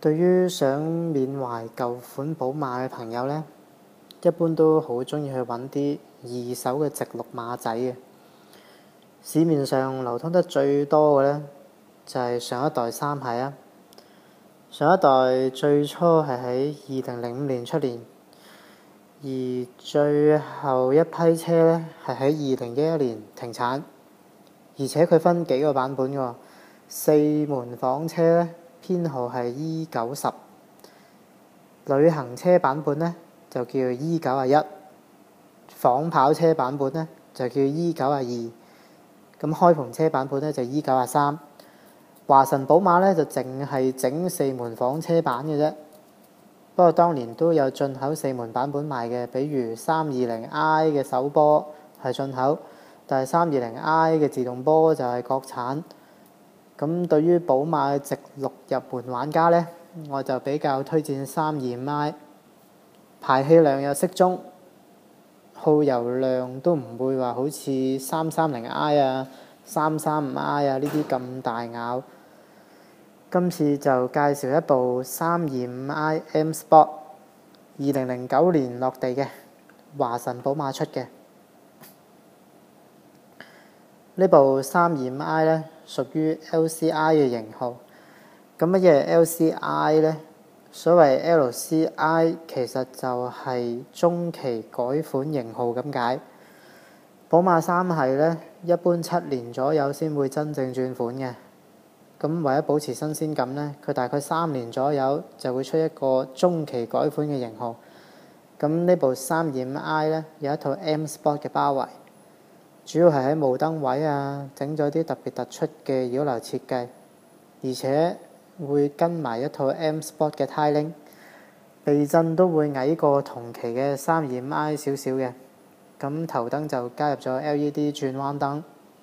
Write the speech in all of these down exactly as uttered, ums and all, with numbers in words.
對於想緬懷舊款寶馬嘅朋友呢，一般都好鍾意去揾啲二手嘅直六馬仔嘅。市面上流通得最多嘅呢，就係上一代三系啊。上一代最初係喺二零零五年出年，而最後一批車呢，係喺二零一一年停產。而且佢分幾個版本㗎，四門房車呢，編號係 E 九十，旅行車版本呢，就叫 E 九十一，仿跑車版本呢，就叫 E 九十二，咁開篷車版本呢，就 E 九十三。華晨寶馬呢，就淨係整四門房車版嘅啫，不過當年都有進口四門版本賣嘅，比如三二零 I 嘅手波係進口，但係三二零 I 嘅自動波就係國產。咁對於寶馬嘅直六入門玩家呢，我就比較推薦三二五 I， 排氣量又適中，耗油量都唔會話好似三三零 I 啊、三三五 I 啊呢啲咁大咬。今次就介紹一部三二五 I M Sport， 二零零九年落地嘅，華晨寶馬出嘅。呢部三二五 I 呢，屬於 L C I 嘅型號。咁乜嘢係 L C I 呢？所謂 L C I 其實就係中期改款型號咁解。寶馬三系呢，一般七年左右先會真正轉款嘅。咁為咗保持新鮮感呢，佢大概三年左右就會出一個中期改款嘅型號。咁呢部三二五 I 呢，有一套 M Sport 嘅包圍，主要係喺霧燈位啊，整咗啲特別突出嘅擾流設計，而且會跟埋一套 M Sport 嘅呔鈴，避震都會矮過同期嘅三二五 I 少少嘅。咁頭燈就加入咗 L E D 轉彎燈。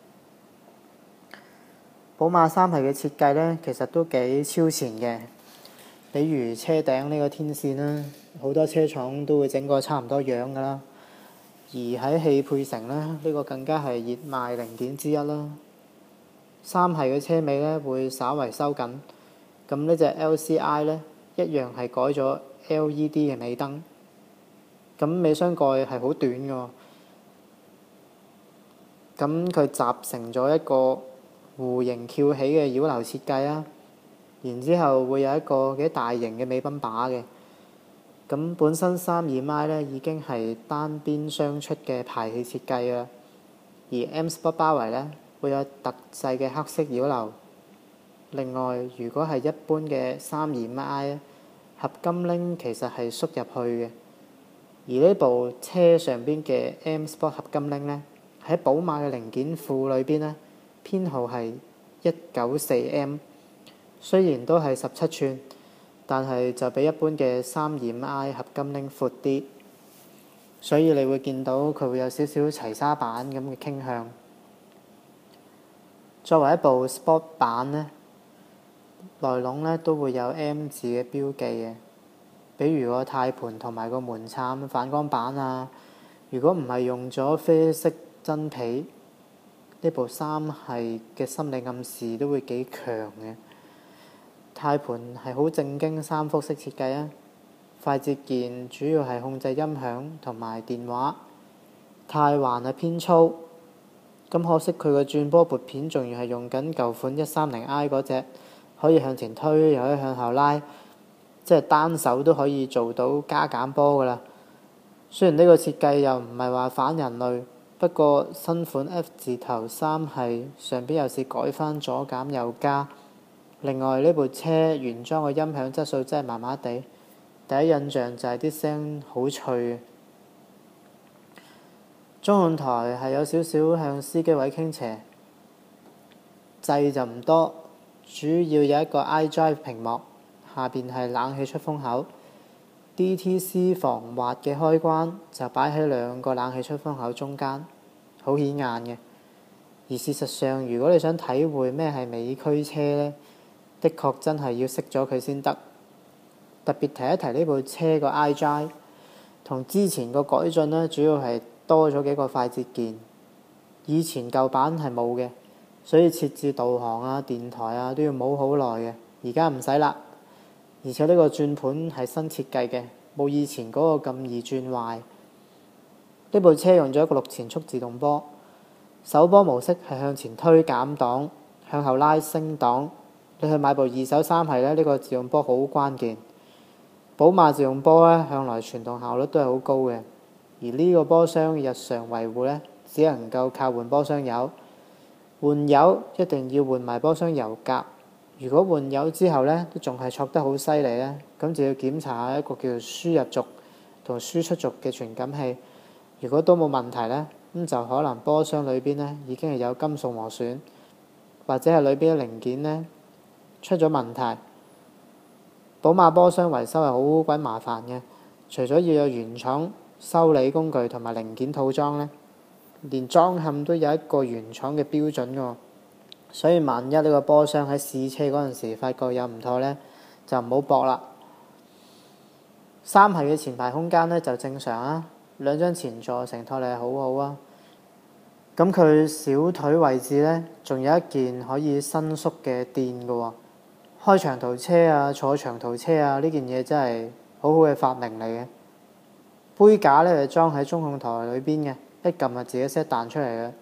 寶馬三系嘅設計呢，其實都幾超前嘅，比如車頂呢個天線啦，好多車廠都會整個差唔多樣噶啦。而喺汽配城呢，呢個更加係熱賣零點之一啦。三系嘅車尾呢會稍為收緊，咁呢隻 L C I 呢一樣係改咗 L E D 嘅尾燈，咁尾箱蓋係好短㗎，咁佢集成咗一個弧形翹起嘅擾流設計啊，然之後會有一個幾大型嘅尾賓把嘅。咁本身三二五 I 呢已經係單邊雙出嘅排氣設計啦，而 M Sport 包圍呢會有特製嘅黑色擾流。另外，如果係一般嘅三二五 I 合金鈴其實係縮入去嘅，而呢部車上邊嘅 M Sport 合金鈴呢，喺寶馬嘅零件庫裏邊呢，編號係一九四 M， 雖然都係十七寸，但係就比一般嘅三二五 I 合金鈴闊啲，所以你會見到佢會有少少齊沙版咁嘅傾向。作為一部 Sport 版呢，內籠呢都會有 M 字嘅標記嘅，比如個軚盤同埋個門檻反光板啊。如果唔係用咗啡色真皮，呢部三系嘅心理暗示都會幾強嘅。軚盤係好正經三幅式設計啊，快捷鍵主要係控制音響同埋電話，軚環係偏粗，咁可惜佢個轉波撥片仲要係用緊舊款一三零 I 嗰隻，可以向前推又可以向後拉，即係單手都可以做到加減波噶啦。雖然呢個設計又唔係話反人類，不過新款 F 字頭三系上邊又是改翻左減右加。另外呢部車原裝嘅音響質素真係麻麻地，第一印象就係啲聲好脆嘅。中控台係有少少向司機位傾斜，掣就唔多，主要有一個 iDrive 屏幕，下邊係冷氣出風口。D T C 防滑嘅開關就擺喺兩個冷氣出風口中間，好顯眼嘅。而事實上，如果你想體會咩係美區車呢，的確真係要識咗佢先得。特別提一提呢部車個 iDrive，同之前個改進呢，主要係多咗幾個快捷鍵，以前舊版係冇嘅，所以設置導航啊、電台啊都要摸好耐嘅。而家唔使啦， 而且呢個轉盤係新設計嘅，冇以前嗰個咁易轉壞。呢部車用咗一個六前速自動波，手波模式係向前推減檔，向後拉升檔。你去買部二手三系咧，呢個自動波好關鍵。寶馬自動波咧向來傳動效率都係好高嘅，而呢個波箱日常維護咧只能夠靠換波箱油。換油一定要換埋波箱油格。如果換油之後咧都仲係挫得好犀利咧，咁就要檢查下一個叫做輸入軸同輸出軸嘅傳感器。如果都冇問題咧，咁就可能波箱裏邊咧已經係有金屬磨損，或者係裏邊嘅零件咧出咗問題。寶馬波箱維修係好鬼麻煩嘅，除咗要有原廠修理工具同埋零件套裝咧，連裝嵌都有一個原廠嘅標準㗎。所以萬一呢個波箱喺試車嗰陣時發覺有唔妥咧，就唔好搏啦。三系嘅前排空間咧就正常啊，兩張前座承托力係好好啊。咁佢小腿位置咧仲有一件可以伸縮嘅墊㗎喎。開長途車啊，坐長途車啊，呢件嘢真係好好嘅發明嚟嘅。杯架咧就裝喺中控台裏邊嘅，一撳就自己 set 彈出嚟嘅。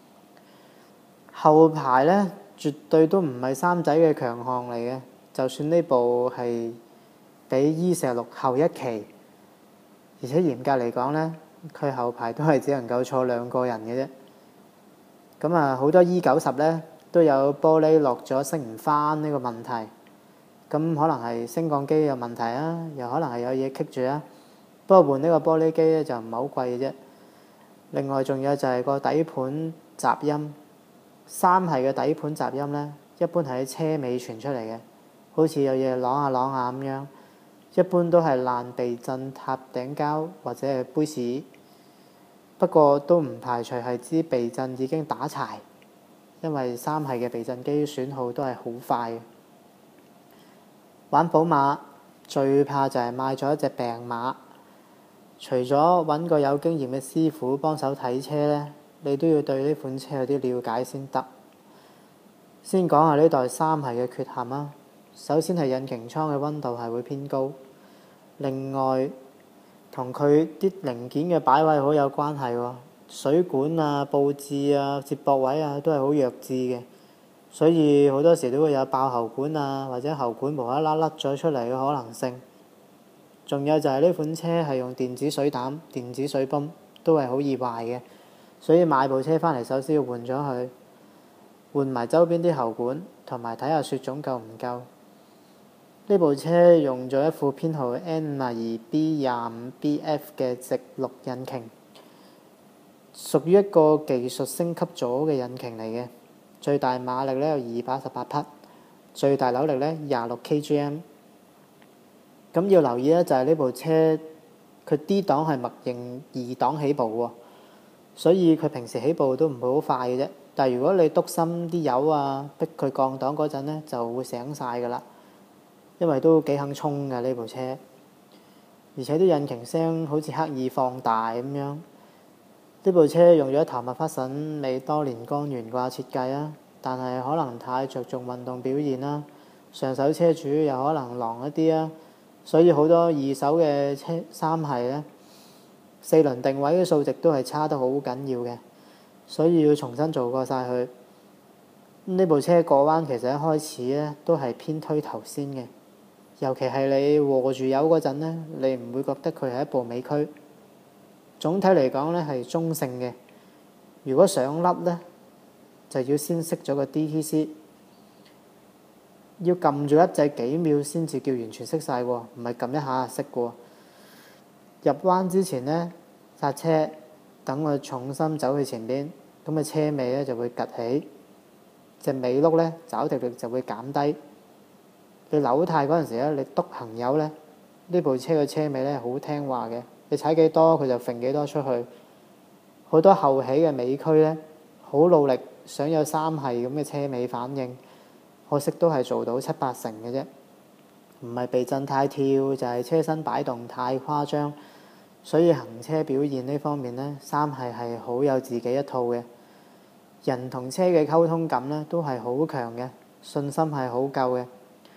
後排咧絕對都唔係三仔嘅強項嚟嘅，就算呢部係比 E 四十六後一期，而且嚴格嚟講咧，佢後排都係只能夠坐兩個人嘅啫。咁啊，好多 E 九十咧都有玻璃落咗升唔翻呢個問題，咁可能係升降機有問題啊，又可能係有嘢棘住啊。不過換呢個玻璃機咧就唔係好貴嘅啫。另外仲有就係個底盤雜音，三系嘅底盤雜音咧，一般係喺車尾傳出嚟嘅，好似有嘢啷下啷下咁樣。一般都係爛避震塔頂膠或者係杯屎，不過都唔排除係支避震已經打柴，因為三系嘅避震機損耗都係好快嘅。玩寶馬最怕就係買咗一隻病馬，除咗揾個有經驗嘅師傅幫手睇車咧，你都要對呢款車有啲了解先得。先講下呢代三系嘅缺陷啊。首先係引擎艙嘅溫度係會偏高，另外同佢啲零件嘅擺位好有關係喎。水管啊、佈置啊、接駁位啊都係好弱智嘅，所以好多時都會有爆喉管啊，或者喉管無啦啦甩咗出嚟嘅可能性。仲有就係呢款車係用電子水膽、電子水泵，都係好易壞嘅，所以買部車翻嚟首先要換咗佢，換埋周邊啲喉管，同埋睇下雪種夠唔夠。呢部車用咗一副編號 N 五二 B 廿五 B F 嘅直六引擎，屬於一個技術升級咗嘅引擎嚟嘅。最大馬力咧有二百一十八匹，最大扭力咧廿六 K G M。咁要留意咧，就係呢部車佢 D 檔係默認二檔起步喎，所以佢平時起步都唔會好快嘅啫。但係如果你篤深啲油啊，逼佢降檔嗰陣咧，就會醒晒㗎啦。因為都幾肯衝㗎呢部車，而且啲引擎聲好似刻意放大咁樣。呢部車用咗一頭麥花臣美多年光懸掛設計啊，但係可能太着重運動表現啦，上手車主又可能狼一啲啊，所以好多二手嘅車三系咧，四輪定位嘅數值都係差得好緊要嘅，所以要重新做過晒佢。呢部車過彎其實一開始咧都係偏推頭先嘅。尤其係你和住油嗰陣咧，你唔會覺得佢係一部尾驅。總體嚟講咧係中性嘅。如果想甩咧，就要先熄咗個 D T C， 要撳住一掣幾秒先至叫完全熄晒喎，唔係撳一下就熄喎。入彎之前咧，剎車，等個重心走去前邊，咁個車尾咧就會趌起，隻尾轆咧抓地力就會減低。你扭軚嗰陣時咧，你篤行油咧，呢部車嘅車尾咧好聽話嘅，你踩幾多佢就揈幾多出去。好多後起嘅尾驅咧，好努力想有三系咁嘅車尾反應，可惜都係做到七八成嘅啫。唔係避震太跳，就係車身擺動太誇張，所以行車表現呢方面咧，三系係好有自己一套嘅。人同車嘅溝通感咧都係好強嘅，信心係好夠嘅。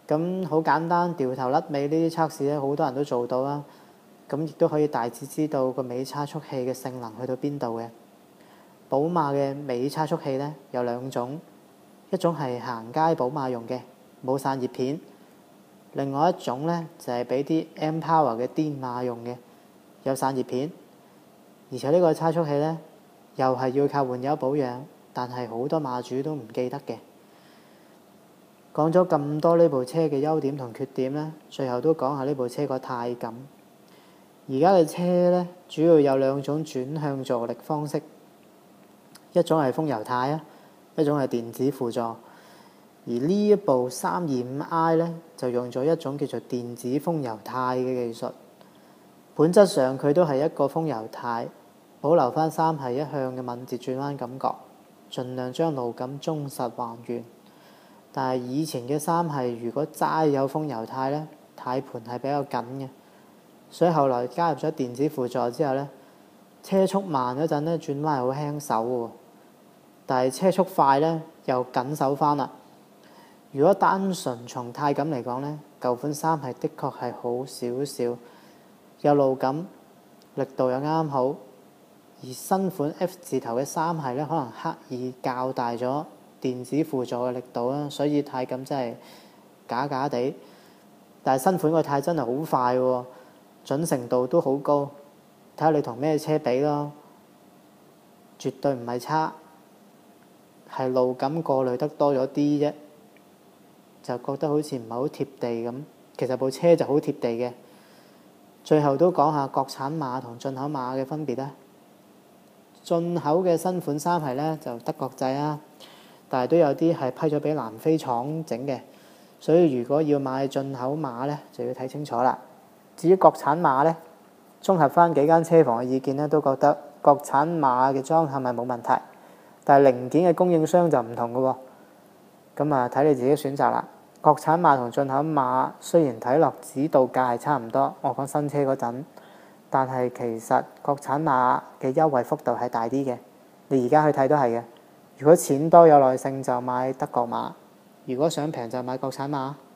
咁好簡單，掉頭甩尾呢啲測試咧，好多人都做到啦。咁亦都可以大致知道個尾差速器嘅性能去到邊度嘅。寶馬嘅尾差速器咧有兩種，一種係行街寶馬用嘅，冇散熱片；另外一種咧就係俾啲 M Power 嘅癲馬用嘅，有散熱片。而且呢個差速器咧又係要靠換油保養，但係好多馬主都唔記得嘅。講咗咁多呢部車嘅優點同缺點咧，最後都講下呢部車個軚感。而家嘅車咧，主要有兩種轉向助力方式，一種係風油軚啊，一種係電子輔助。而呢一部三二五 i 咧，就用咗一種叫做電子風油軚嘅技術。本質上佢都係一個風油軚，保留翻三系一向嘅敏捷轉彎感覺，盡量將路感忠實還原。但係以前嘅三系如果齋有風油軚咧，軚盤係比較緊嘅，所以後來加入咗電子輔助之後咧，車速慢嗰陣咧轉彎係好輕手喎，但係車速快咧又緊手翻啦。如果單純從軚感嚟講咧，舊款三系的確係好少少，有路感，力度又啱好，而新款 F 字頭嘅三系咧，可能刻意較大咗電子輔助嘅力度啦，所以軚感真係假假地。但係新款個軚真係好快喎，準程度都好高，睇下你同咩車比咯，絕對唔係差，係路感過濾得多咗啲啫，就覺得好似唔係好貼地咁。其實部車就好貼地嘅。最後都講下國產馬同進口馬嘅分別啦。進口嘅新款三系咧就德國製啦，但係都有啲係批咗俾南非廠整嘅，所以如果要買進口馬咧，就要睇清楚啦。至於國產馬咧，綜合翻幾間車房嘅意見咧，都覺得國產馬嘅裝嵌係冇問題，但係零件嘅供應商就唔同嘅喎。咁啊，睇你自己選擇啦。國產馬同進口馬雖然睇落指導價係差唔多，我講新車嗰陣，但係其實國產馬嘅優惠幅度係大啲嘅。你而家去睇都係嘅。如果錢多有耐性就買德國馬，如果想平就買國產馬。